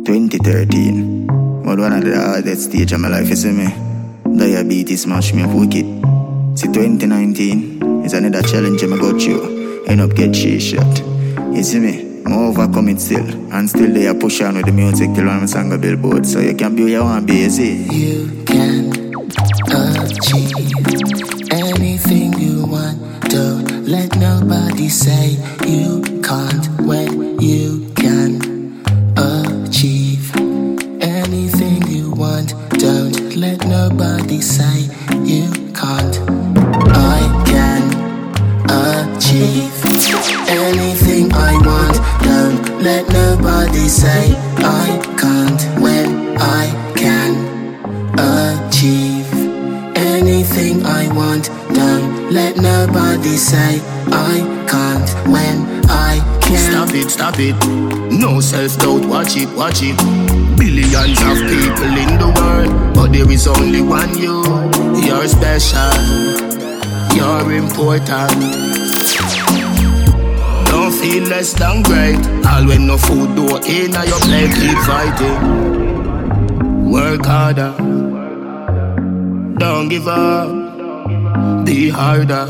2013. But one of the hardest stage of my life, you see me? Diabetes smash me up wicked. See 2019 is another challenge I go through. End up get shit shot. You see me? I overcome it still. And still they are push on with the music till one song a billboard. So you can be who you want to be, you see? You can achieve anything you want. Don't let nobody say you can't when you can achieve anything you want. Don't let nobody say you can't. I can achieve anything I want. Don't let nobody say I can't when I can achieve anything I want. Don't let nobody say I can't when I can. Stop it. No self-doubt, watch it. Billions of people in the world, but there is only one you. You're special, you're important. Don't feel less than great. All when no food do in your plate, keep fighting. Work harder, don't give up, be harder.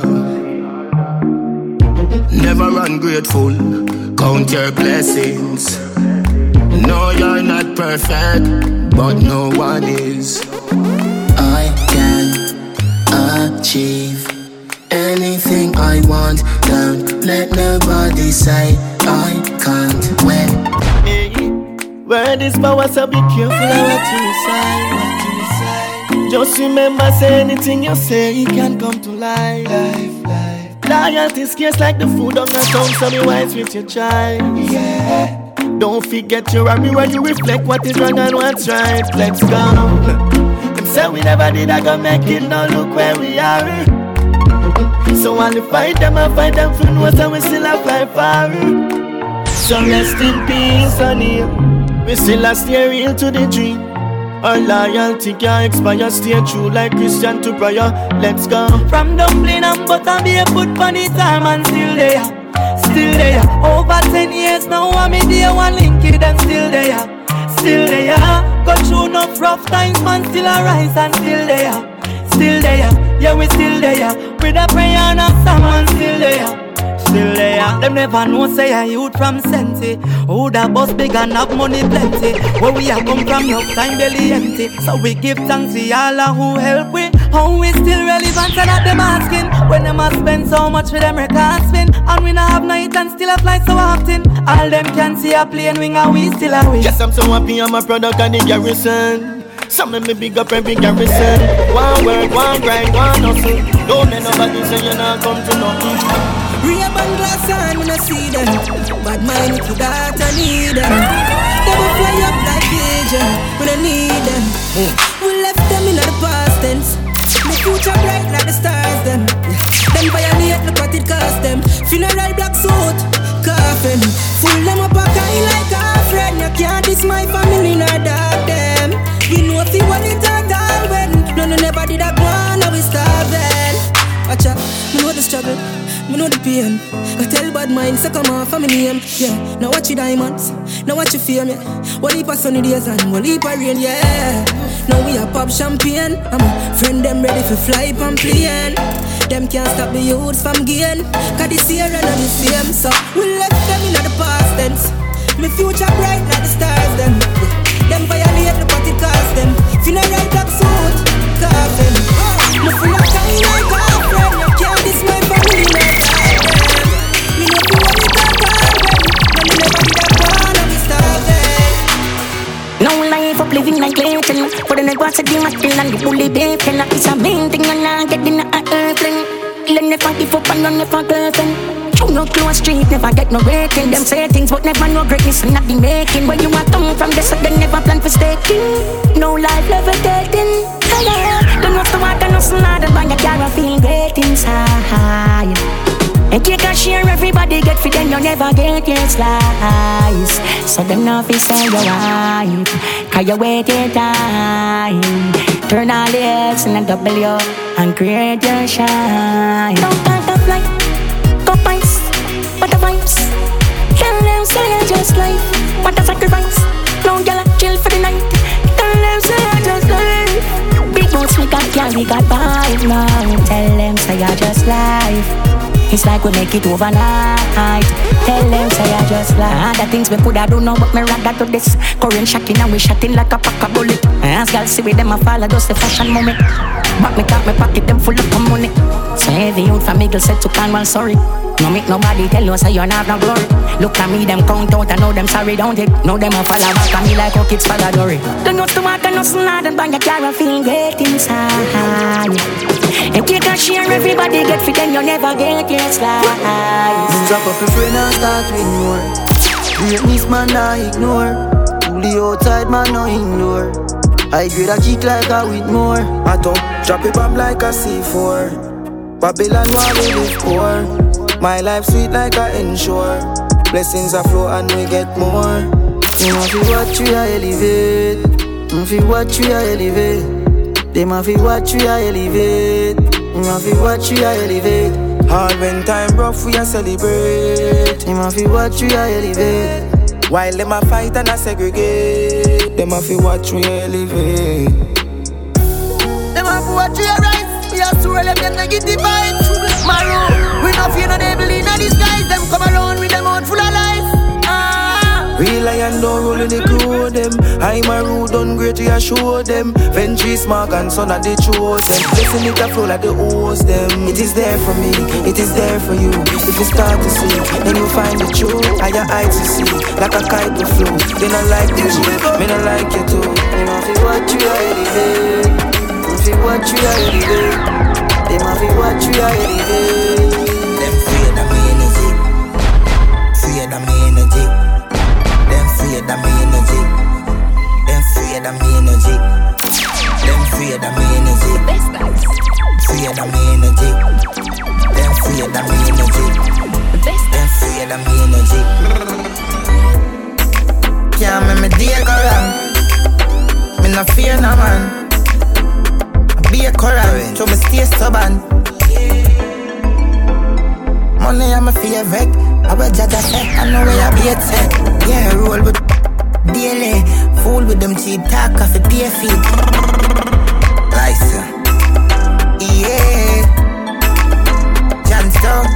Never ungrateful, count your blessings. No, you're not perfect, but no one is. I can achieve anything I want. Don't let nobody say I can't when. Hey, word is power, so be careful of what you say. Just remember, say anything you say, it can come to life. Loyalty is scarce like the food on the tongue, so be wise with your child. Yeah. Don't forget your army when you reflect what is wrong and what's right. Let's go. Them say we never did, I go make it, now look where we are. So while you fight them, I fight them for no, so we still a fly far. So rest in peace, honey. We still a stay real to the dream. Our loyalty can't expire, stay true like Christian to prayer. Let's go. From dumpling and butter, be a put on the time and still there. Over 10 years now, I'm in the one link it and still there. Go through enough rough times, man, still a rise and still there. Yeah, we still there. With a prayer and a song, man, still there. Them never know say a youth from Senti. Who the boss big and have money plenty. Where we are come from, no time belly empty. So we give thanks to all who help we. How we still relevant and at them asking. When them a spend so much for them records spin. And we not have night and still a fly so often. All them can see a plane wing and we still a win. Yes, I'm so happy I'm a product of the garrison. Some of me big up every garrison. One work, one grind, one hustle. Don't let nobody say you not come to nothing. Ray-Ban glass on, when I see them. Bad mind with your daughter need them. They will fly up like pigeon when I need them. We left them in the past tense. My future bright like the stars them. Them violate, look what it cost them. Funeral black suit, coffin. Full them up a kind like a friend. You can't diss my family nor dog them. We know if you want it at all when. No, never did I go on, now we starving. Watch out, me know the struggle, me know the pain. I tell bad minds to come off of my name. Yeah, now watch your diamonds, now watch your fame. Yeah, what heap of sunny days and what heap of rain. Yeah, now we a pop champagne. I'm a friend them ready for fly on plane. Them can't stop the youths from gain. Cause this year and the same. So we left them in the past tense. My future bright like the stars them. Them violate the party cost them. Funeral black suit, coffin. Me full of time like a friend. You can't diss my family like that. Me know you want it at all when. Me never did a plan of this starving. No life up living like Clayton. For the night watch the material and the bully bacon. It's a main thing and I get in a airplane. Learn never give up and run never girlfriend. You no close street, never get no rating. Them say things but never know greatness and not the making. When you are come from this, so they never plan for staking. No life levitating. Don't know to walk and no slaughter, but you can't feel great inside. And take a share, everybody get fit, then you never get your slice. So them know if it's all your wife, cause you wait your time. Turn all the X and a W and create your shine. Don't count the flight, go pies, what the vibes. Tell them say it's just life, what the sacrifice. No, you're like we got vibe now. Tell them say I just life. It's like we make it overnight. Tell them say I just like the things we coulda do now, but me rather do this. Current shocking and we shotting like a pack of bullet. As girls see with them a follow just the fashion moment. Back me top me pocket them full of money. So heavy youth from Eagle said to Cornwall sorry. No make nobody tell you say you not no glory. Look at me them count out and know them sorry don't it. Know them a follow back at me like how kids follow Dory. Don't know to walk and no slide and bang your car and feel great inside. And take a share everybody get fit then you never get your slice. Drop up your friend and start with more. Greatness man I ignore. Fully outside man no ignore. I grade a kick like a with more. I don't drop it bomb like a C4. Babylon while we live poor. My life sweet like a ensure. Blessings are flow and we get more. You know fi watch we a elevate. You fi watch we a elevate. They ma fi watch we a elevate. You ma fi watch we a elevate. All when time rough we a celebrate. You ma fi watch we a elevate. While them a fight and a segregate. Them a fi watch we elevate. Them a fi watch we a rise. We a swirl them negative vibes. Maroon, we no fear no devil in a disguise. Them come around with them out full of life. Real lion don't roll in the crew them. I'm a rude done great to show them. Ventry smart and son of the chosen. Listen it a flow like the host them. It is there for me, it is there for you. If you start to see, then you find the truth. Higher heights to see, like a kite to flow. They not like you, me not like you too. You know if you watch you are elevate. If you watch you are elevate. They might be watch you are elevate. Them fear of me energy. Fear of me energy. Them fear of me energy. Them fear of me energy. Them fear of me energy. Fear of me energy. Them fear of me energy. Them fear of me energy. Can't make me day go wrong. Me no fear no man. Be a current, so me stay stubborn. Money I'm a favorite. I will judge a set, I know where I be a set. Yeah, roll with daily. Fool with them cheap talk off the pay feet. License. Yeah. Johnstone.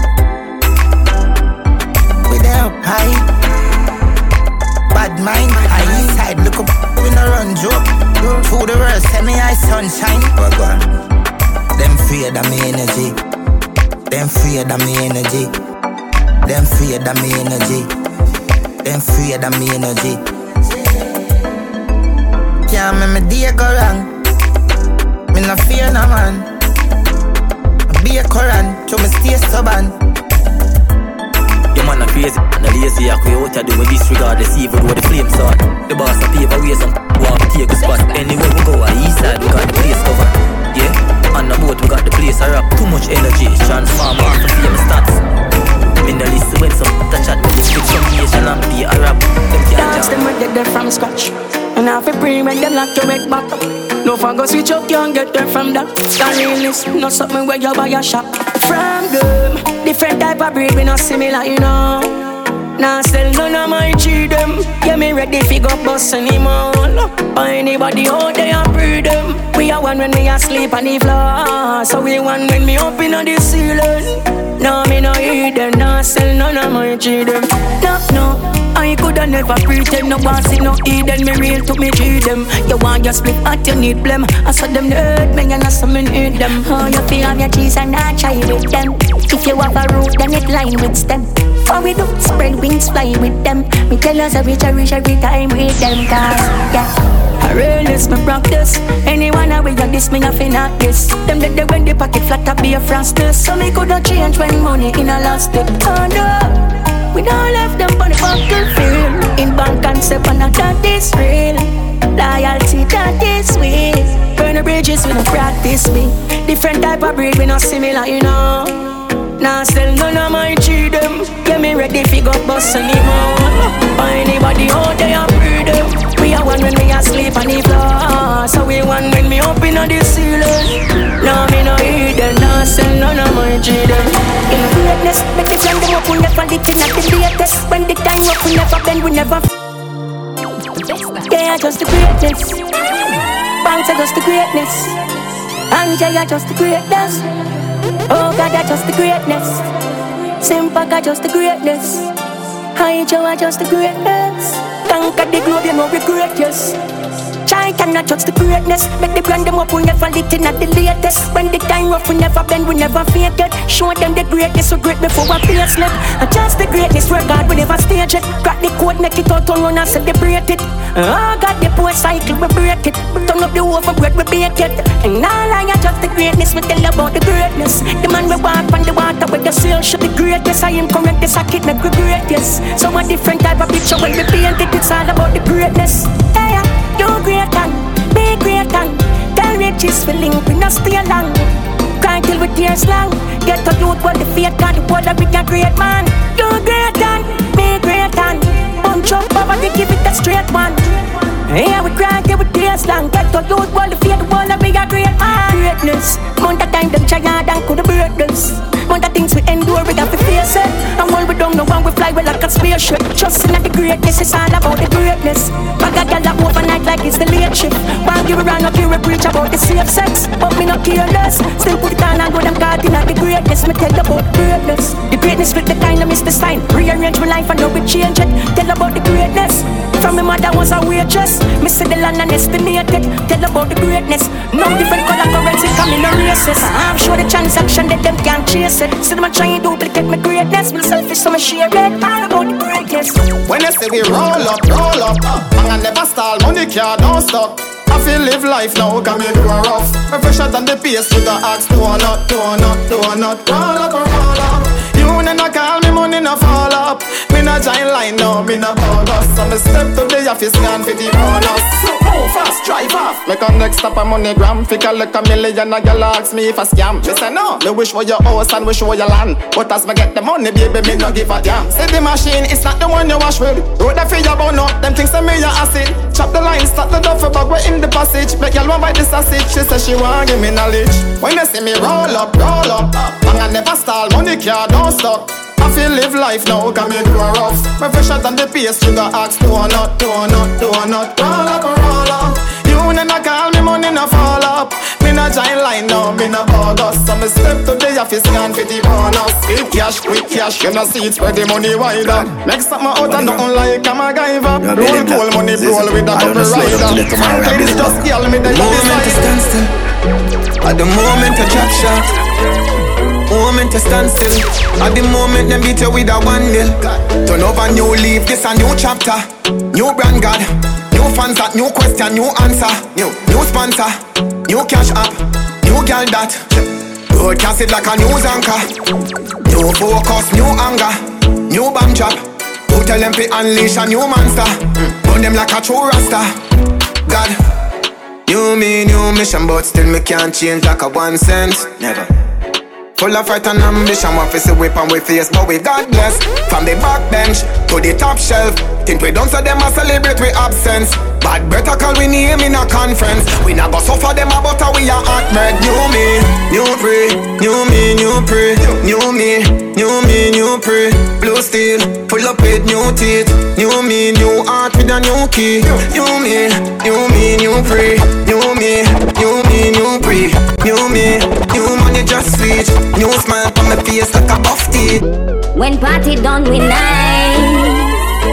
With help high. Bad mind, high side. Look up, we no run joke. Through the world, send me eye sunshine. Them fear of me energy. Them fear of me energy. Them fear of me energy. Them fear of me energy. Can't make me day go wrong. Me no fear no man. Be a current, so me stay stubborn. Your man a crazy and a lazy. I could out do with disregard the evil with the flames on. The boss a pave away some walk take a spot. Anywhere we go, east side we got the place covered. Yeah, on the boat we got the place a rap. Too much energy, transform off the famous stats. Me no listen when some touch at with some Asian and be a rap. Dance them and get them from scratch. And half a pre when them lock your head back. No fun go switch up, can't get them from that. That realness, not something where you buy a shop. From them, different type of breed, we not similar, you know. Nah, still none of my cheat them. Yeah, me ready fi go bust anymore. Or anybody out there and breed them. We are one when we asleep on the floor. So we one when me up in the ceiling. No, me no eat them. Nah, still none of my cheat them. No, I coulda never pretend. No boss it no eat them. Me real to me cheat them. You want your split at you need blem. I saw them hurt me and I saw me need them. Oh, you feel have your cheese and I try with them. If you have a root then it line with stem. What we do, spread wings, fly with them. Me tell us we cherish every time with them. Cause, yeah, I realness me practice. Anyone away you this, me nothing not this. Them let the when the pocket flat up be a frosted. So me coulda change when money in a last it. Oh no, we don't left them on the battlefield. In bank concept and that is real. Loyalty that is sweet. Burn the bridges we don't practice me. Different type of breed we not similar, you know. Nah, still none of my cheat them. Get me ready fi go bust anymore. Or anybody out there breed them. We are one when we asleep on the floor. So we one when me up in the ceiling. Nah, me no eat them. Nah, still none of my cheat them. In greatness, make the time them up, we never live in at the latest. When the time up, we never bend, we never yeah, just the greatness. Banks are just the greatness. Angela just the greatness. Oh God, I just the greatness. Simpak, just the greatness. Hi Joe, I just the greatness. Conquer the globe, you know regret, yes. Try cannot touch the greatness. Make the brand them up, we never lit in at the latest. When the time rough, we never bend, we never fake it. Show them the greatness, so great before we pay slip. And just the greatness, where God, we never stage it. Crack the code, make it out to run and celebrate it. Oh God, the poor cycle, we break it. Turn up the oven, bread, we bake it. And all I just the greatness, we tell about the greatness. The man we walk on the water with the sail ship. The greatness, I am correct, this I keep make we greatest. So a different type of picture when we paint it, it's all about the greatness. Hey, you great and be great and tell riches for link, we not stay long. Can't kill with tears long. Get a youth what the faith got, the word that we can great man. You great and be great and punch up over the give it a straight one. Yeah, we cry till with tears long. Get a youth what the faith, the word that we can great man. Greatness, amount of time them try hard and could have breathless. Amount of things we endure, we got to face it. And when we don't know when we fly, we like a spaceship. Trusting that the greatness is all about the greatness. I got y'all up overnight like it's the late shift. While you around up here, we preach about the safe sex. But me not careless. Still put it on and go them caught in at the greatness. Me tell about the greatness. The greatness with the kind of miss the sign. Rearrange my life and now we change it. Tell about the greatness. From my mother was a waitress. Me see the land and estimate it. Tell about the greatness. No different color currency coming no races. I'm sure the transaction that them can't chase it. So them a try and duplicate my greatness. Me selfish so me share it. All about the greatness. When you say we roll up, and I never stall, money can't don't stop. I feel live life now, can make it rough. My fresher than the pace with the axe, do or not, roll up. You never call me, money no fall up. Me no giant line now, me no bonus. So me step to the office, scan for the bonus. So go fast, drive off. Make a next stop a money gram. Figure like $1 million, a girl ask me if I scam. Me say no, me wish for your house and wish for your land. But as me get the money, baby, me no give a damn. Say the machine, it's not the one you wash with. Road the feel about no, them things say me a acid. Chop the line, start the duffel bag, we're in the passage. Make y'all want buy the sausage. She say she want give me knowledge. When you see me roll up, and I never stall, money can't don't stop. I feel live life now, can make it rough. My fresher than the pace, you got axe, do or not, roll up. You never call me, money no fall up. Me no giant line now, me no bogus. So me step to the office, scan for the bonus. Quick cash, you know see it spread the money wider. Make something out and nothing like a MacGyver. Roll cool money, roll with a double rider. Please just yell me the moment to stand still. At the moment to drop shot. Moment to stand still. At the moment them beat you with a 1-0. Turn over new leaf, this a new chapter. New brand God, new fans that, new question, new answer. New sponsor, new cash app, new girl that broadcast it like a news anchor. New focus, new anger, new bomb drop. Who tell them to unleash a new monster? Burn them like a true rasta. God, new me, new mission, but still me can't change like a 1 cent. Never. Full of fight and ambition, one face a whip and we face, but we God bless. From the back bench to the top shelf, think we don't so them a celebrate we absence. Bad better call we name in a conference. We not go suffer them about how we are hot bread. New me, new pray, new me, new pray. New me, new me, new pray. Blue steel, full up with new teeth. New me, new heart with a new key. New me, new me, new pray. New me, new me, new pray. New me, new money just sweet. New smile on my face like a buff teeth. When party done we nice,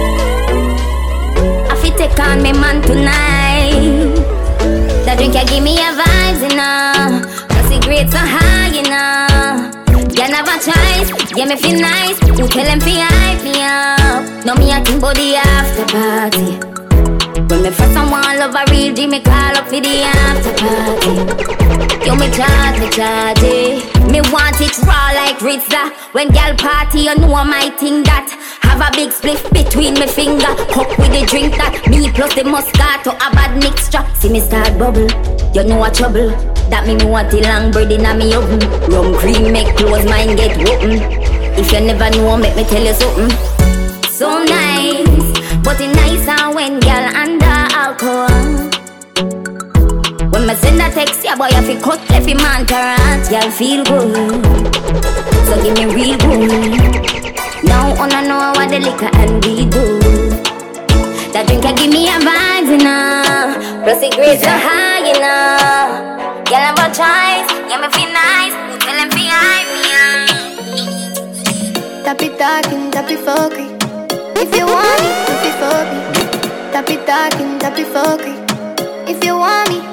I fit take on me man tonight. The drink ya give me a vibes, you know. Plus the grades so high, you know. You never choice, yeah me feel nice. Who tell them fi hype me up? No me a think about the after party. When me first someone love a real G, me call up for the after party. Yo, me charge it. Me want it raw like Rizza. When gal party, you know my thing that. Have a big split between me finger. Cup with the drink that. Me plus the Moscato, a bad mixture. See me start bubble, you know a trouble. That me want the long bread in a me oven. Rum cream make close mine get open. If you never know, make me tell you something. So nice, but it nicer when gal under alcohol. When me send a text, yeah boy, I feel cut left in man current. Y'all feel good, so give me real good. Now I know what the liquor and we do. That drink can give me a vibe, you know. Plus the grades so high, you know. Y'all never try Tap it talking, tap it fucking. If you want me, if you fuck me. Tap it talking, tap it fucking. If you want me.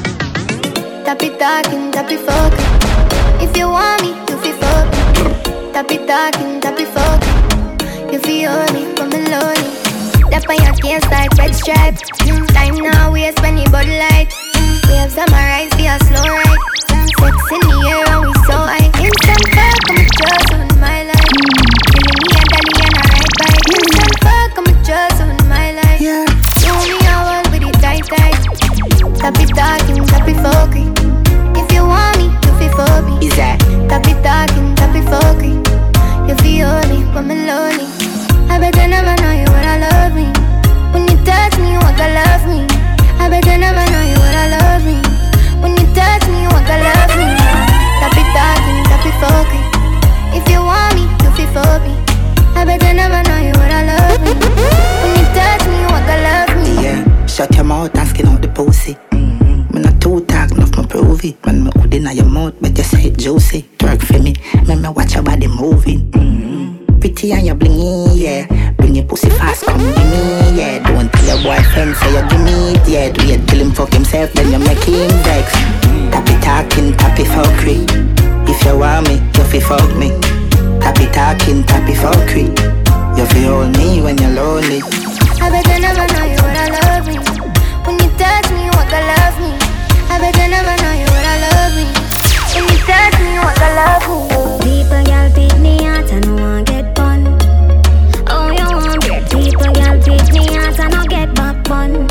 Tap it talking, tap it fucking. If you want me, you feel fuck me. Tap it talking, tap it fucking. You feel me, come lonely. Tap on your case like red stripe. Time now waste when you bud light. Waves summarize via slow ride. Sex in the air and we so high. Instant fuck, I'm a trust on my life. Feeling me and Danny and I ride bike. Instant fuck, I'm a trust on my life. Do me a world with it tight. Tap it talking, tap it fucking. If you want me, you feel for me. Is that? Tap it talking, tap it fucking. You feel me, when I'm lonely. I better never know you would I love me. When you touch me, you want to love me. I better never know you would I love me. When you touch me, you want to love me. Tap it talking, tap it fucking. If you want me, you feel for me. I better never know you would I love me. When you touch me, you want to love me. Yeah, shut your mouth and skin out the pussy. Me not too talk, enough me prove it. When me hood inna your mouth, but you say it juicy. Twerk for me, make me watch your body moving. Pretty and you blingy, yeah. Bring your pussy fast, come give me, yeah. Don't tell your boyfriend, say you give me it, yeah. Do you tell him fuck himself, then you make him vex. Tap it talking, tap it fuckery. If you want me, you fi fuck me. Tap it talking, tap it fuckery. You fi hold me when you're lonely. I better never know you would I love me. When you touch me, you want to love me. I better never know you would I love me. When you touch me, you want to love me. People, y'all pick me out and no one get bun. Oh, you want great people, y'all pick me out and no get back bun.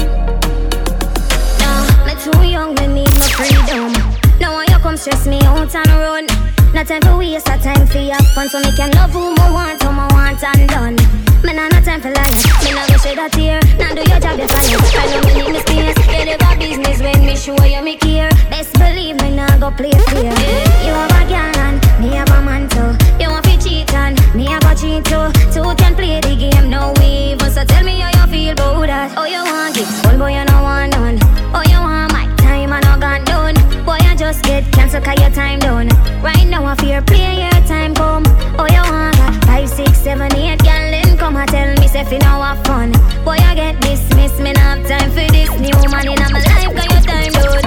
No, me too young, me need no freedom. Now when you come stress me out and run. No time for waste, a time for have fun. So me can love who I want and done. Me nah no time for lies. Me nah go shed a tear. Nah do your job if I know. I know me need me space. You never business when me show you me care. Best believe me nah go play fair. You have a girl and me have a man too. You want to cheat and me have a cheat too. Two can play the game, no even. So tell me how you feel about that. Oh you want it, one boy you no want none. Oh you want my time and no gone done. Boy you just get cancelled 'cause your time done. Right now I fear play your time come. Oh you want that 5, 6, 7, 8 girl then come and tell me say fi now have fun. Boy I get dismissed, me not have time for this new man in my life 'cause your time done.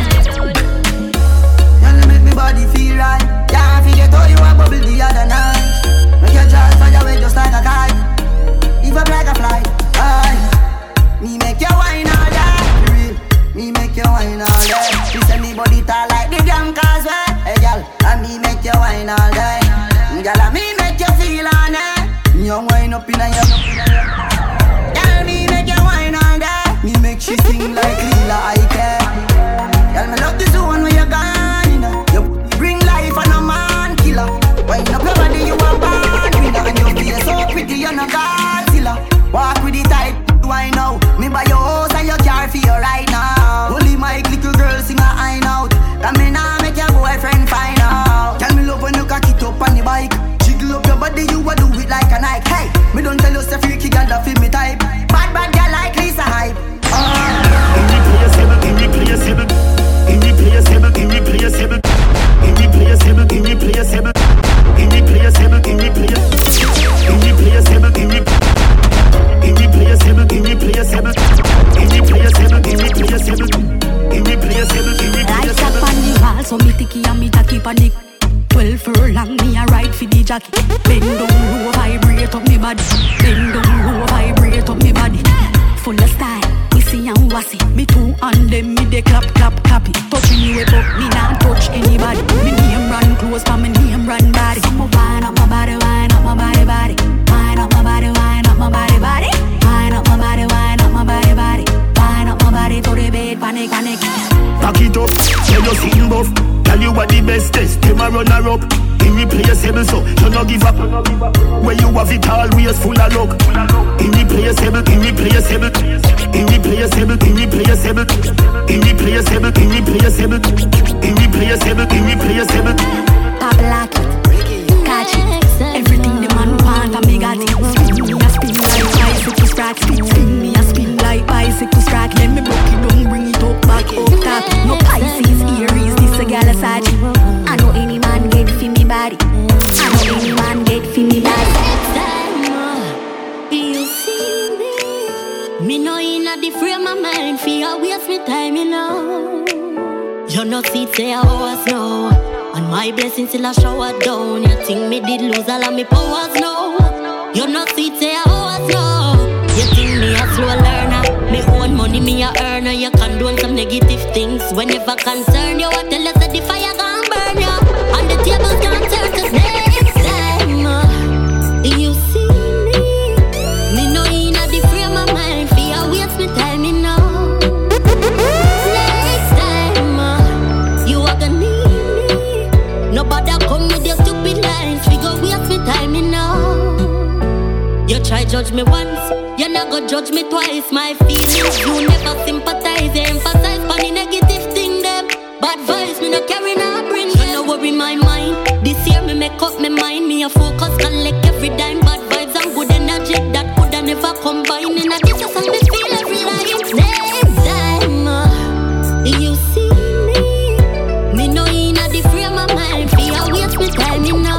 Y'all make me body feel right. Can't forget how you a bubble the other night. Make your jaws fly away just like a kite. Leave up like a fly. Aye. Me make you wine all day. Me make you wine all day. You send me body tall like the damn causeway. Hey girl, and me make you wine all day. Girl, and me make you feel on it. Me a wine up in a your. Girl, me make you wine all day. Me make she sing like Lila Ike. Girl, me love the zone where you gone, you know. You bring life and a man killer. Wine up your body, you a bad winner. And your face so pretty, you're not Godzilla. Walk with the tight, why now? Me buy your house and your car for you right now. Holy Mike, little girl sing a high note. That me nah make your boyfriend find out. Tell me love when you cock it up on the bike. Jiggle up your body, you a do it like a Nike. Hey, me don't tell you say freaky girl that feel me type. Bad girl like Lisa Hype. Irreplaceable, irreplaceable, irreplaceable, irreplaceable, irreplaceable, irreplaceable, irreplaceable, irreplaceable, irreplaceable, irreplaceable, irreplaceable, irreplaceable. Lights up on the wall, so me ticky and me tacky panic. 12 furlong, me a ride for the jockey. Bend down low, vibrate up me body. Bend down low, vibrate up me body. Full of style, we see and wassy. Me two and them, me they clap, clap it. Touching you up, me not touch anybody. Me name run close, but me name run body. So me wind up my body, wind up my body, body. Wind up my body, wind up my body, body. Wind up my body, wind up my body, body. Wind up my body to the bed, panic. Back it up, tell you sing buff. Tell you what the best test, them a runner up. Irreplaceable, so you no give up. When you have it always full of luck. Irreplaceable, irreplaceable, irreplaceable, irreplaceable, irreplaceable, irreplaceable, irreplaceable, irreplaceable. Pop lock it, catch it. Everything the man want, and me got it. Spin me a spin like bicycle track. Spin me a spin like bicycle track. Let me broke it down, bring it up back up top. No Pisces, Aries, this a gal aside. I know any man get fi me body. I know any man get fi me body. know inna the frame of mind, fear waste me time, you know. You know see say I was no, and my blessings still a shower down. You think me did lose all of me powers, no. You know see say I was no. You think me a slow learner, me own money me a earner. You condone some negative things whenever concern you. I tell you that the fire gon' burn you, and the tables gon' turn. 'Cause next time you see me know inna the frame of mind, fear waste me time, you know. Next time you are gonna need me. Nobody come with your stupid lines, we go waste me time, you know. You try judge me once, you not go judge me twice. My feelings you never sympathize, you emphasize on the negative thing them. Bad vibes me no carry no bring. You no worry my mind. This year me make up my mind, me a focus collect every dime. Bad vibes and good energy that coulda never combine. In a this just me feel every line. Next time you see me know inna the frame of mind, fear waste me time, you know.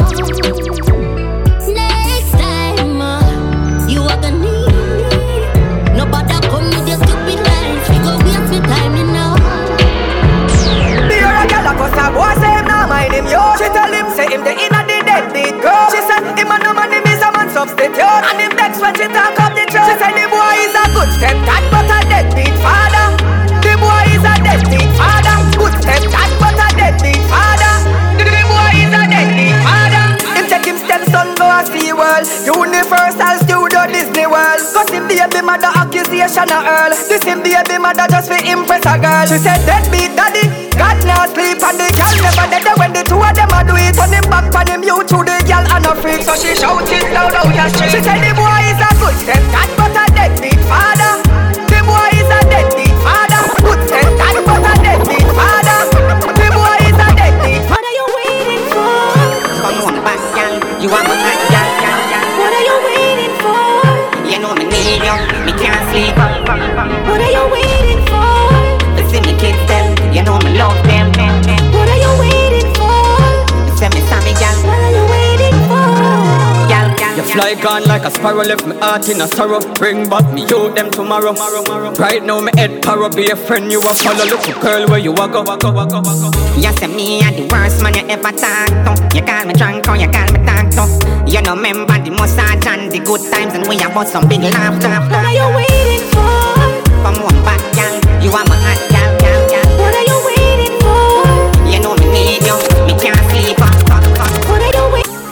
Next time you are gonna need me. Nobody come with your stupid lines, we go waste me time, you know. Beer a gyal a cuss a boy say him nah mind him yo. She tell him say him the inna the deadbeat girl. She said him a no man, him is a man substitute. And him next when she talk up the truth. She said the boy is a good stepdad but a deadbeat father. The boy is a deadbeat father. Good stepdad but a deadbeat father. The boy is a deadbeat father. Him take him stepson go a Sea World, Universal Studio Disney World. Cause him baby mother accusation a earl. This him baby mother just for impress a girl. She said deadbeat daddy, God now sleep and the girl never dead when the two of them a do it. Turn him back on him you to the girl and a freak. So she shout it loud out the street. She said the boy is a good stepdad but a deadbeat father. The boy is a deadbeat father. Good stepdad but a deadbeat father. The boy is a deadbeat. What are you waiting for? Come on back, girl. You are my hot girl, girl, girl. What are you waiting for? You know me need you, me can't sleep. What are you waiting for? See me kids them, you know me love them. What are you waiting for? Say me Sammy girl. What are you waiting for? Girl, girl, you fly gone like a sparrow, left me heart in a sorrow. Bring back me youth them tomorrow. Right now me head paro, be a friend you a follow. Look girl where you a go. You say me a the worst man you ever talk to. You call me drunk or you call me talk to. You know remember the massage and the good times and we a bought some big laughter. What are you waiting for? Come on back, girl. You are my hot girl, girl, girl. What are you waiting for? You know me need you, me can't sleep. What are you waiting for?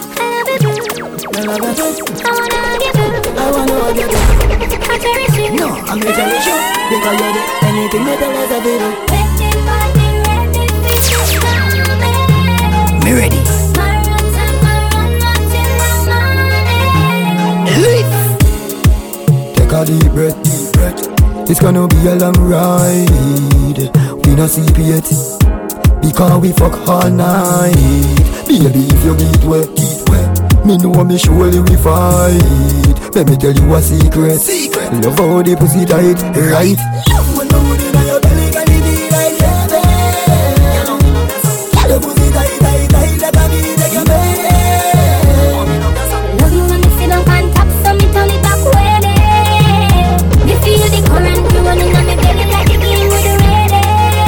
I wanna hug you. No, I'm gonna cherish you because you're the anything that I love to do. Me ready. Take a deep breath, deep breath. It's gonna be a long ride. We no see piety because we fuck all night. Baby, if you get wet, me know me surely we fight. Let me tell you a secret. Love how the pussy tight, right? When the mood in your belly, can it be like heaven? The pussy tight, tight, tight, like a bee, take your bed. Love you when me sit down on top, so me turn it back way. Me feel the current running on me belly like the beam with the ready.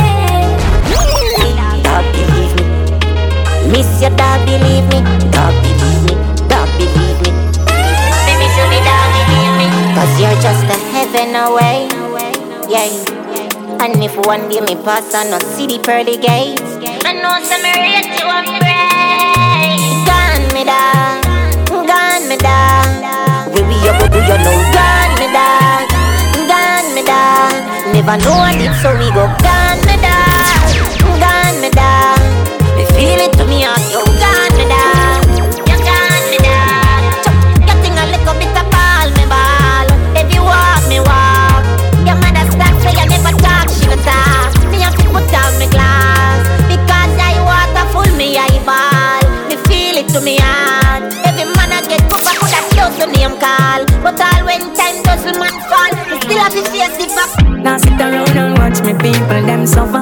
Dog believe me, miss your dog believe me. Dog believe me, dog believe me. Baby show me dog believe me. 'Cause you're just a heaven away, yeah. And if one day me pass and not see the pearly gates, I know some rate you and pray. Gone me dog, gone me dog. We up do you know? Gone me dog, gone me dog. Never know it, so we go gone me dog, gone me dog. Me feel it to me out, you gone me dog, you gone me dog. Getting a little bit of ball me ball. If you walk me walk, your mother start say you never talk, she no talk. Me have to put down my glass because I water full me eyeball. Me feel it to me heart. Every man I get cover could have close the name call, but all when time does the man fall, me still have to face the fact. Now sit around and watch me people them suffer.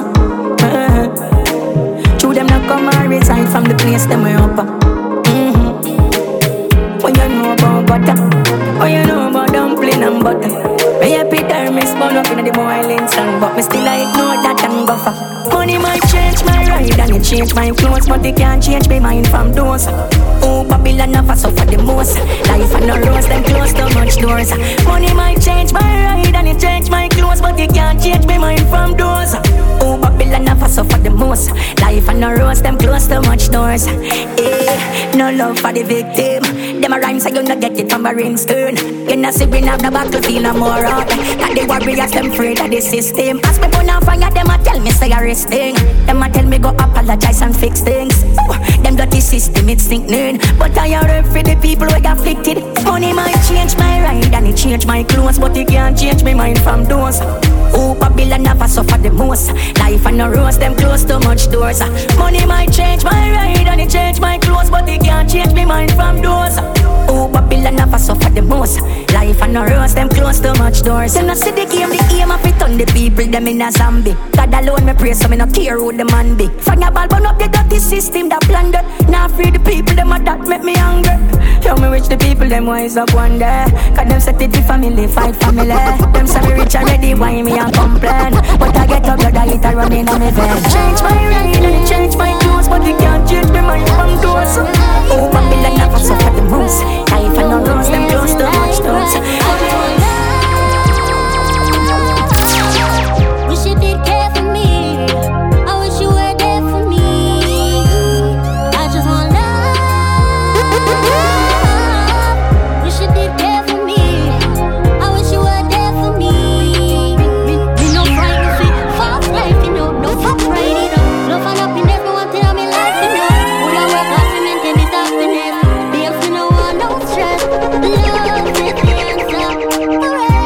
True them not come and reside from the place them way up. When you know about butter, when you know about dumpling and butter, me happy there miss song, but me still I ignore that and go for. Money might change my ride and it change my clothes, but it can't change my mind from those. Oh, Babylon never suffer the most. Life and no rose, them close too much doors. Money might change my ride and it change my clothes, but it can't change my mind from those. Oh, Babylon never suffer the most. Life and no rose, them close too much doors. No love for the victim. Them a rhyme so you not get it from a ringstone. You not see we have the battlefield no more out. That the warriors them afraid of the system. As me burn on fire, them a tell me say a rest thing. Them a tell me go apologize and fix things. Them dirty system it's sinking. But I are for the people who get afflicted. Money might change my ride and it change my clothes, but it can't change my mind from those. Oh, Babylon never suffer the most. Life and no rose, them close too much doors. Money might change my ride and it change my clothes, but it can't change my mind from those. Oh, Babylon never suffer the most. Life and no rose, them close too much doors. Them not see the game, the aim of it on the people, them in a zombie. God alone me pray, so me no care who the man be. Find a ball, burn up the dirty system that planned it. Now free the people, them a that make me angry. Yo, me rich the people, them wise up one day. Cause them set it the family, fight family. Them say me rich already, why me a complain? But I get up, blood, I hit a running on me vein. Change my ride and it change my clothes, but it can't change my mind from doors. Oh, Babylon never suffer the most. Life and no rose, them close too much doors. Wish you did care for me. I wish you were there for me. I just want love. Wish you did care for me. I wish you were there for me. Me no frightened of it. Fast life, you know. No fuck right, you know. Love and happiness, me want it on me life, you know. Would I work hard to maintain this happiness? Babes, me no want no stress. Love is the answer for everyone.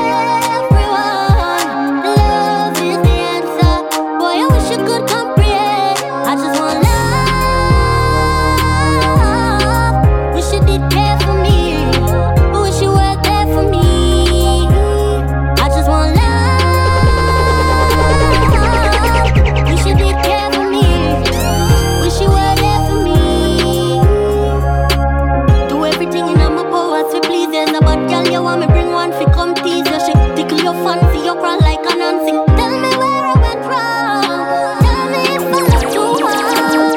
Love is the answer. Boy, I wish you could comprehend. I just want love. Wish you did care for me. I wish you were there for me. I just want love. Wish you did care for me. Wish you were there for me. Do everything in my power to please. There's a bad girl you want me bring one fi come tease you. She tickle your fancy, you cry like a Nancy. Tell me where I went wrong. Tell me if I love too hard.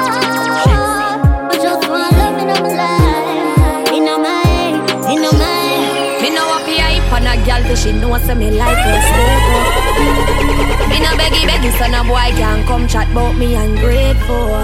I just want love in my life, in my mind. Me know what hype on a girl till she know say me like her stable. Me no beggy so no boy can come chat about me ungrateful.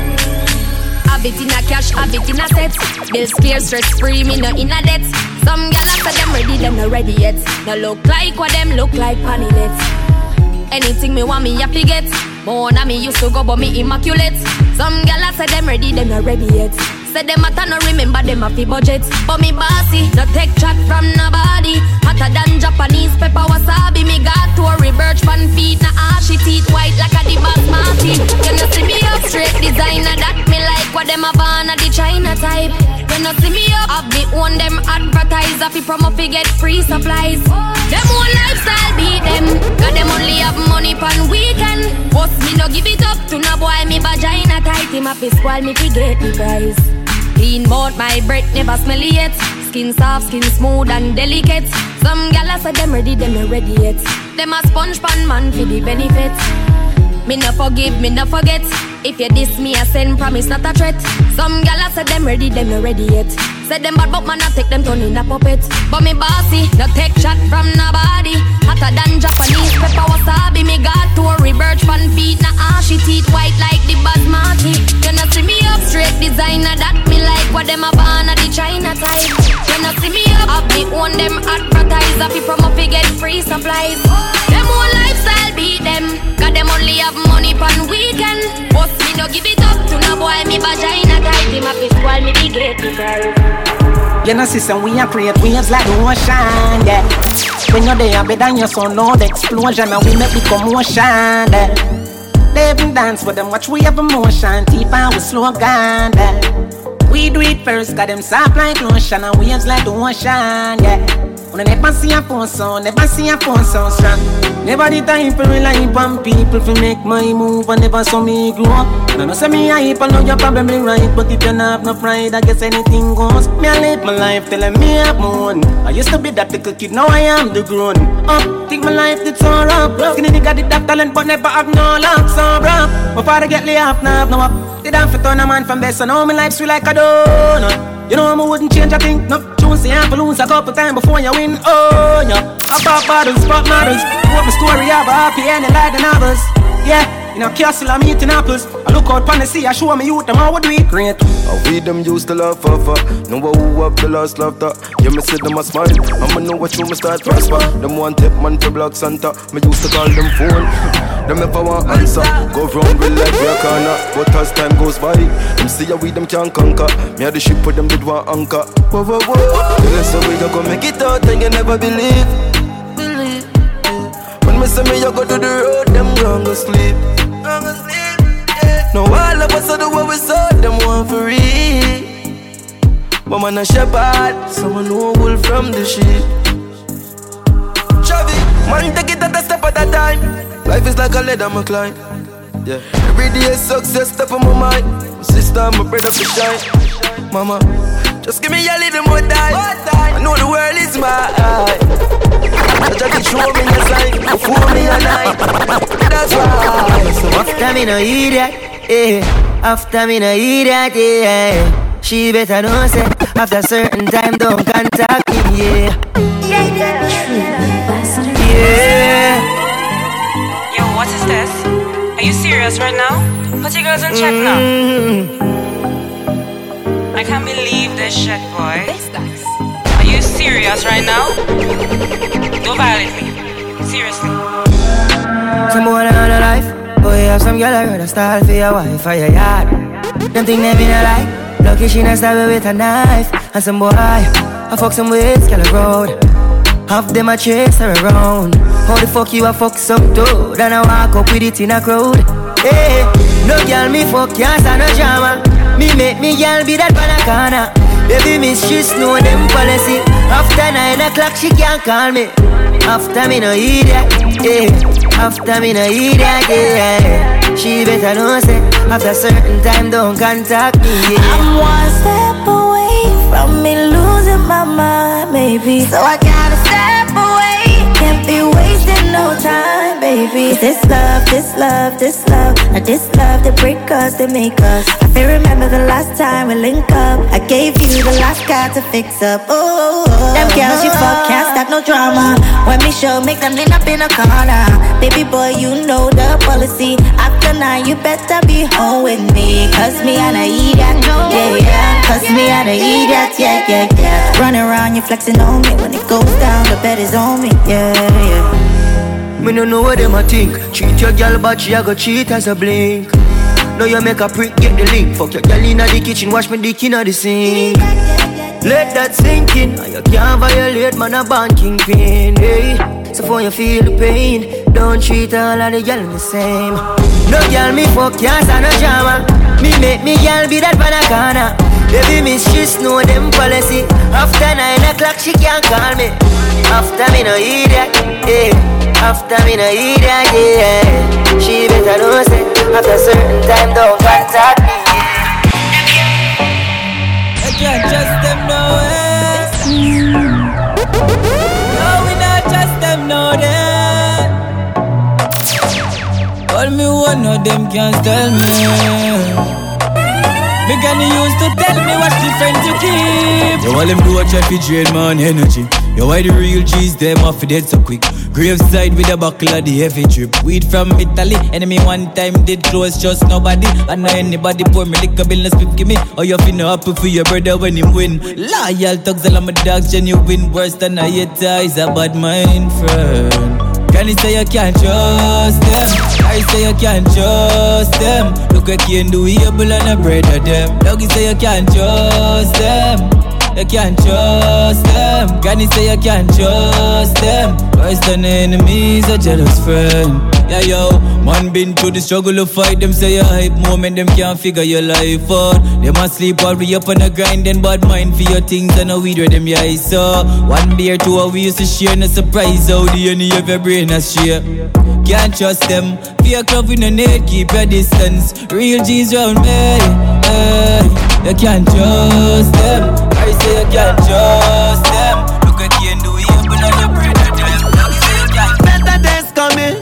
Have it in a cash, have it in a set. Bills clear, stress free, me no in a debt. Some gyal say them ready, them no ready yet. No look like what them look like panilets. Anything me want me have to get. More than me used to go but me immaculate. Some gyal say them ready, them no ready yet. Say them matter no remember them have the budget. But me bossy, no take chat from nobody. Hotter than Japanese pepper wasabi. Me got to a rebirch pan feet. Na ashy teeth white like a the basmati. You know see me up straight designer that me like what them a born a the China type. You know see me up, have me own them advertiser. Fi promo fi get free supplies. Them own lifestyle beat them. Cause them only have money pan weekend. Boss me no give it up to no boy. Me vagina tight. Him up his squall me fi get the prize. Clean mouth, my breath never smelly yet. Skin soft, skin smooth and delicate. Some gyal say them ready, them not ready yet. Them a sponge pan man for the benefit. Me no forgive, me no forget. If you diss me, I send promise, not a threat. Some gyal say them ready, them not ready yet. Say them bad but man I take them turn in a puppet. But me bossy, no take shot from nobody. Hotter than Japanese pepper wasabi. Me got to a rebirch pan feet. Na ashy teeth white like the basmati. You know see me up straight designer that me like what them a born a the China type. You know see me up, have me own them advertiser. Fi promo fi get free supplies. Them own lifestyle beat them. Cause them only have money pan weekend. But me no give it up to no boy. Me vagina tight. Him a fi squall me big get the prize. You know, sister, we are create waves like the ocean, yeah. When you're there, better than your son, no the explosion, and we make the commotion, yeah. They even dance with them, watch we have emotion, deep and we slow down, yeah. We do it first, got them soft like lotion, and waves like the ocean, yeah. When I never see a phone sound, never see a phone sound strong. Never the time for rely on people, for make my move, and never saw me grow up. No, no, say me hype, I know you're probably right. But if you not have no pride, I guess anything goes. Me, I live my life telling me I'm moon. I used to be that little kid, now I am the grown. Think my life did so rough. Skinny nigga did that talent, but never have no luck, so rough. My father get laid off, now have no up. Did I fit on a man from best, so now my life sweet like a donut. You know I wouldn't change a thing. No, choose the ample lose a couple times before you win. Oh, yeah. Pop bottles, pop models. What my story have a happy ending like the novels. Yeah. In a castle, I'm eating apples. I look out on the sea, I show me youth, them how would do it great. We them used to love for. Know who up the last laughter. Yeah, me see them a smile. I'ma know what you me start prosper. Them one tip man for Black Santa. Me used to call them phone. Them never want answer. Go round with like we a corner. But as time goes by, them see how we them can conquer. Me had the ship for them did one anchor. Whoa, whoa, whoa. That's the way you go make it out and you never believe. When me say me you go to the road, them gon' go sleep. No, all of us do what we saw, them want for real. But man a shepherd, someone who wolf from the sheep. Chavi, man take it at a step at a time. Life is like a ladder, my climb. Yeah, every day is success, step on my mind. My sister, my brother for shine. Mama, just give me a little more time. I know the world is mine. Just show me your sign, before me a night. That's right. So after me no hear that, after me no hear that, she better know say after certain time don't contact me, yeah. Yo, what is this? Are you serious right now? Put your girls in check now. I can't believe this shit, boy. Are you serious right now? Don't violate me. Seriously. Some boy on a life, boy have some girl I rather style for your wife or your yard. Them think they been a lie, lucky she not stab with a knife. And some boy, I fuck some with girl road. Half them a chase her around. How the fuck you a fuck some dude and I walk up with it in a crowd. Hey, no girl me fuck can't stand no drama. Me make me girl be that banana. Baby miss she know them policy. After 9 o'clock she can't call me. After me no hear that, after me no hear that, she better know say after certain time don't contact me, I'm one step away from me losing my mind, baby. So I gotta step away, can't be wasting no time, baby. This love, this love, this love, now this love that break us, that make us. I feel remember the last time we link up. I gave you the last guy to fix up. Oh, them girls you fuck can't stop no drama. When me show, make them lean up in a corner. Baby boy, you know the policy. After 9, you better be home with me. Cause me and I eat that, yeah. Cause me and I eat that, yeah. Running around, you flexing on me. When it goes down, the bed is on me, yeah. Me no know what them a think. Treat your girl but she a go cheat as a blink. Now you make a prick, get the link. Fuck your girl inna the kitchen, wash me dick inna the sink. Let that sink in. You can't violate, man a born kingpin, hey. So for you feel the pain, don't treat all of the girl the same. No girl me fuck can't stand no drama. Me make me girl be that banana. Baby miss she know them policy. After 9 o'clock she can't call me. After me no hear that, after me no hear that, she better know say after certain time don't contact me, I can't trust them no way. No, we not trust them no day. All me one of them can't tell me. Me gonna used to tell me what the friends you keep. Yo, all them do a try fi drain man energy. Yo, why the real G's them off dead so quick? Graveside with a buckle of the heavy drip. Weed from Italy. Enemy one time did close, just nobody. And now anybody pour me liquor bill and spit give me. Oh, you finna happy for your brother when him win. Loyal thugs, all of my dogs genuine. Worse than a hater is a bad mind friend. Can you say you can't trust them? I say you can't trust them. Look like you ain't do able and a brother them. Doggy say you can't trust them. You can't trust them. Can you say you can't trust them? Worse than enemies, a jealous friend. Yeah, yo, man been through the struggle to fight. Them say a hype moment, them can't figure your life out. Them a sleep while we up on the grind. Then bad mind for your things and a weed where them your eyes saw. One beer, two a we used to share. No surprise how the end of your brain has share. Can't trust them. Fear club in the net, keep your distance. Real G's round me. You can't trust them. I say you can't trust them. Look at you and do it, but not your bread to them. Better days coming.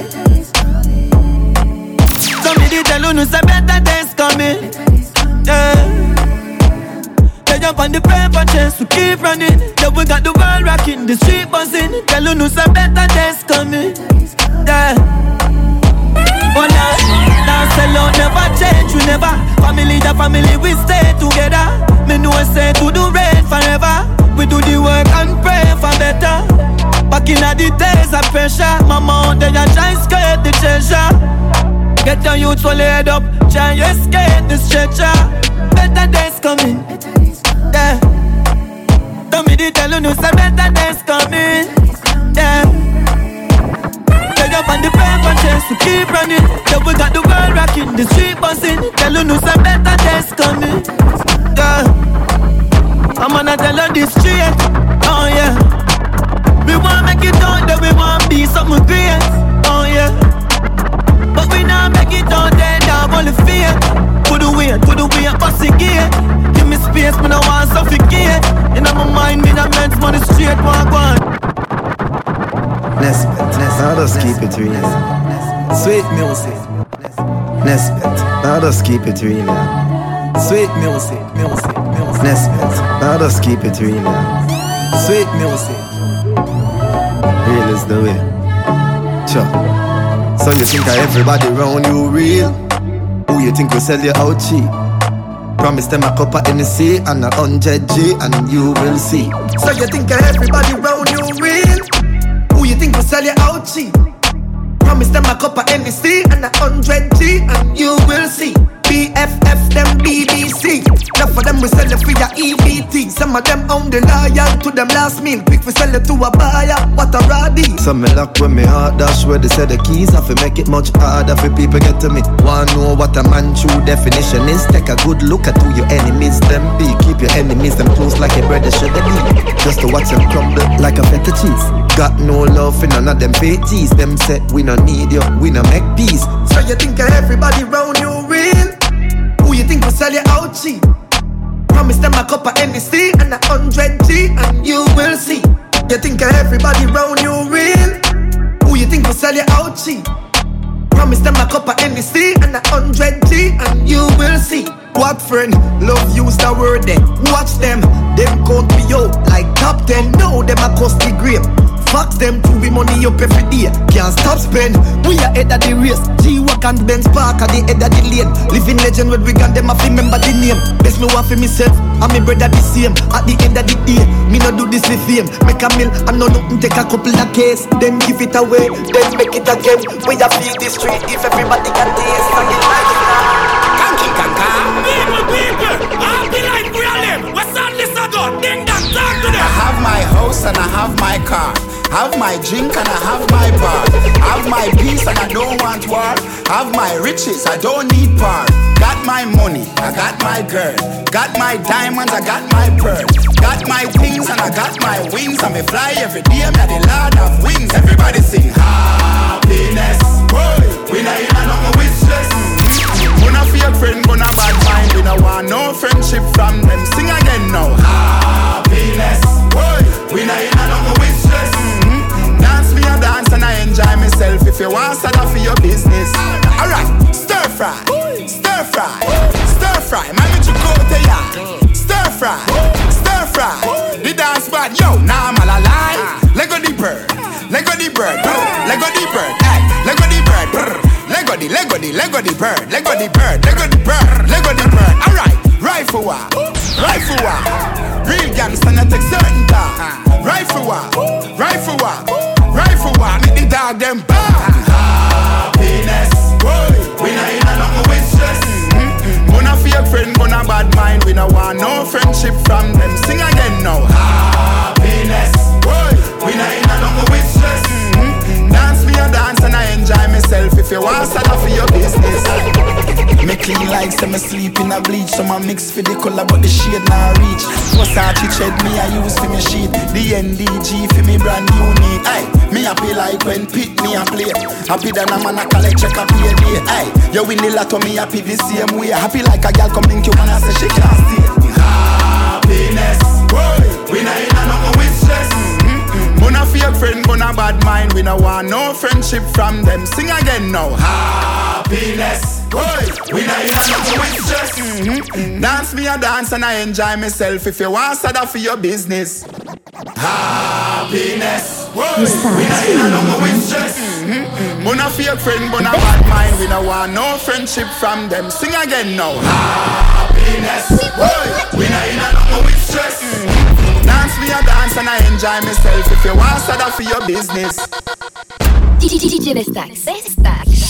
Somebody tell you no say better days coming. Yeah. They jump on the paper chase to keep running. Yeah, we got the world rocking, the street buzzing. Tell you no say better days coming. Yeah. Oh now sell out, never change, we never. Family the family, we stay together. Me know say to do rain forever. We do the work and pray for better. Back in the days of pressure, mama out there try escape the treasure. Get your youth all head up, try escape the stretcher. Better days coming, yeah. Tell me the tell you no say better days coming, yeah. Get up on the paper chase to keep running. Yeah, we got the world rocking, the street buzzing. Tell you no say better days coming, yeah. I'm gonna tell you this straight, oh yeah. We want make it out there, we want be something great, oh yeah. But we not make it out there, now only fear. Put away, bust the gate. Give me space, me no want suffocate. In my mind, me not meant money straight, walk on. Nesbet, now just keep it real. Sweet music. Nesbet, now just keep it real. Sweet music. Nesbet, now just keep it real. Sweet music. Real is the way. Sure. So you think everybody around you real? Who you think will sell you out cheap? Promise them a cup of NC and 100G and you will see. So you think everybody around you real? Who you think will sell you out cheap? Promise them a cup of NC and 100G and you will see. BFF them BBC. Enough of them we sell it for your EBT. Some of them only loyal to them last meal. Quick we sell it to a buyer. What a rowdy. Some me lock when me heart dash where they say the keys. I fi make it much harder for people get to me. Wanna know what a man true definition is? Take a good look at who your enemies them be. Keep your enemies them close like a brother should they be. Just to watch them crumble like a feta cheese. Got no love for none of them faties. Them say we no need you, we no make peace. So you think everybody round you real? Who you think will sell you out cheap? Promise them a cup of NC and 100G and you will see. You think everybody round you real? Who you think will sell you out cheap? Promise them a cup of NC and 100G and you will see. What friend? Love use the word then. Watch them count me out like top 10. No, them a cost the grape. Fuck them to be money up every day. Can't stop spend. We are head of the race. G-Walk and Benz Park at the head of the lane. Living legend with Wigan, them have to remember the name. Best me want for myself and my brother the same. At the end of the day, me no do this for fame. Make a meal and no nothing take a couple of case. Then give it away, then make it again. We are feed the street if everybody can taste. And the life is People, I'll be like we are them. What's on this ago? Ding dong, talk to them. I have my house and I have my car. Have my drink and I have my bar. Have my peace and I don't want war. Have my riches, I don't need par. Got my money, I got my girl. Got my diamonds, I got my pearl. Got my wings and I got my wings. And me fly every day, I'm the Lord of wings. Everybody sing happiness. We not in a no wish list. Gonna fake friend, gonna bad mind. We no want no friendship from them. Sing again now. Happiness. We not in a no wish list. Dance me a dance and I enjoy myself. If you want to for your business. Alright, stir fry. Stir fry. Stir fry. Man, you go to ya. Stir fry. Stir fry. The dance bad. Yo, now I'm all alive. Lego the bird. Lego the bird. Lego the bird. Hey, Lego the bird. Lego the bird, Lego the bird, Lego the bird, Lego the bird. Alright, rifle war, real gangsta not take certain time. Rifle war, make the dog them bad. Happiness, we not in a no wishes. Gonna fake friend, gonna bad mind. We no want no friendship from them. Sing again now. Happiness, we not in a no wishes. Dance me a dance and I enjoy myself. If me sleep in a bleach. Some a mix for the color but the shade not reach. Versace tread me I use for me sheet. The NDG for me brand unique. Ay, me happy like when Pit me a play. Happy than a man a collect check a payday. Ay, you win the lotto me happy the same way. Happy like a girl come link you and I say she can't stay. Happiness, we not in a no with stress. Buna fake friend, buna bad mind. We no want no friendship from them. Sing again now. Happiness, we not in a no with stress. Dance me a dance and I enjoy myself. If you want sada for your business. Happiness, we not in a no with stress. Buna fake friend, buna bad mind. We no want no friendship from them. Sing again now. Happiness, we not in a no with stress. Dance me a dance and I enjoy myself. If you want sada for your business. DJ Vestax.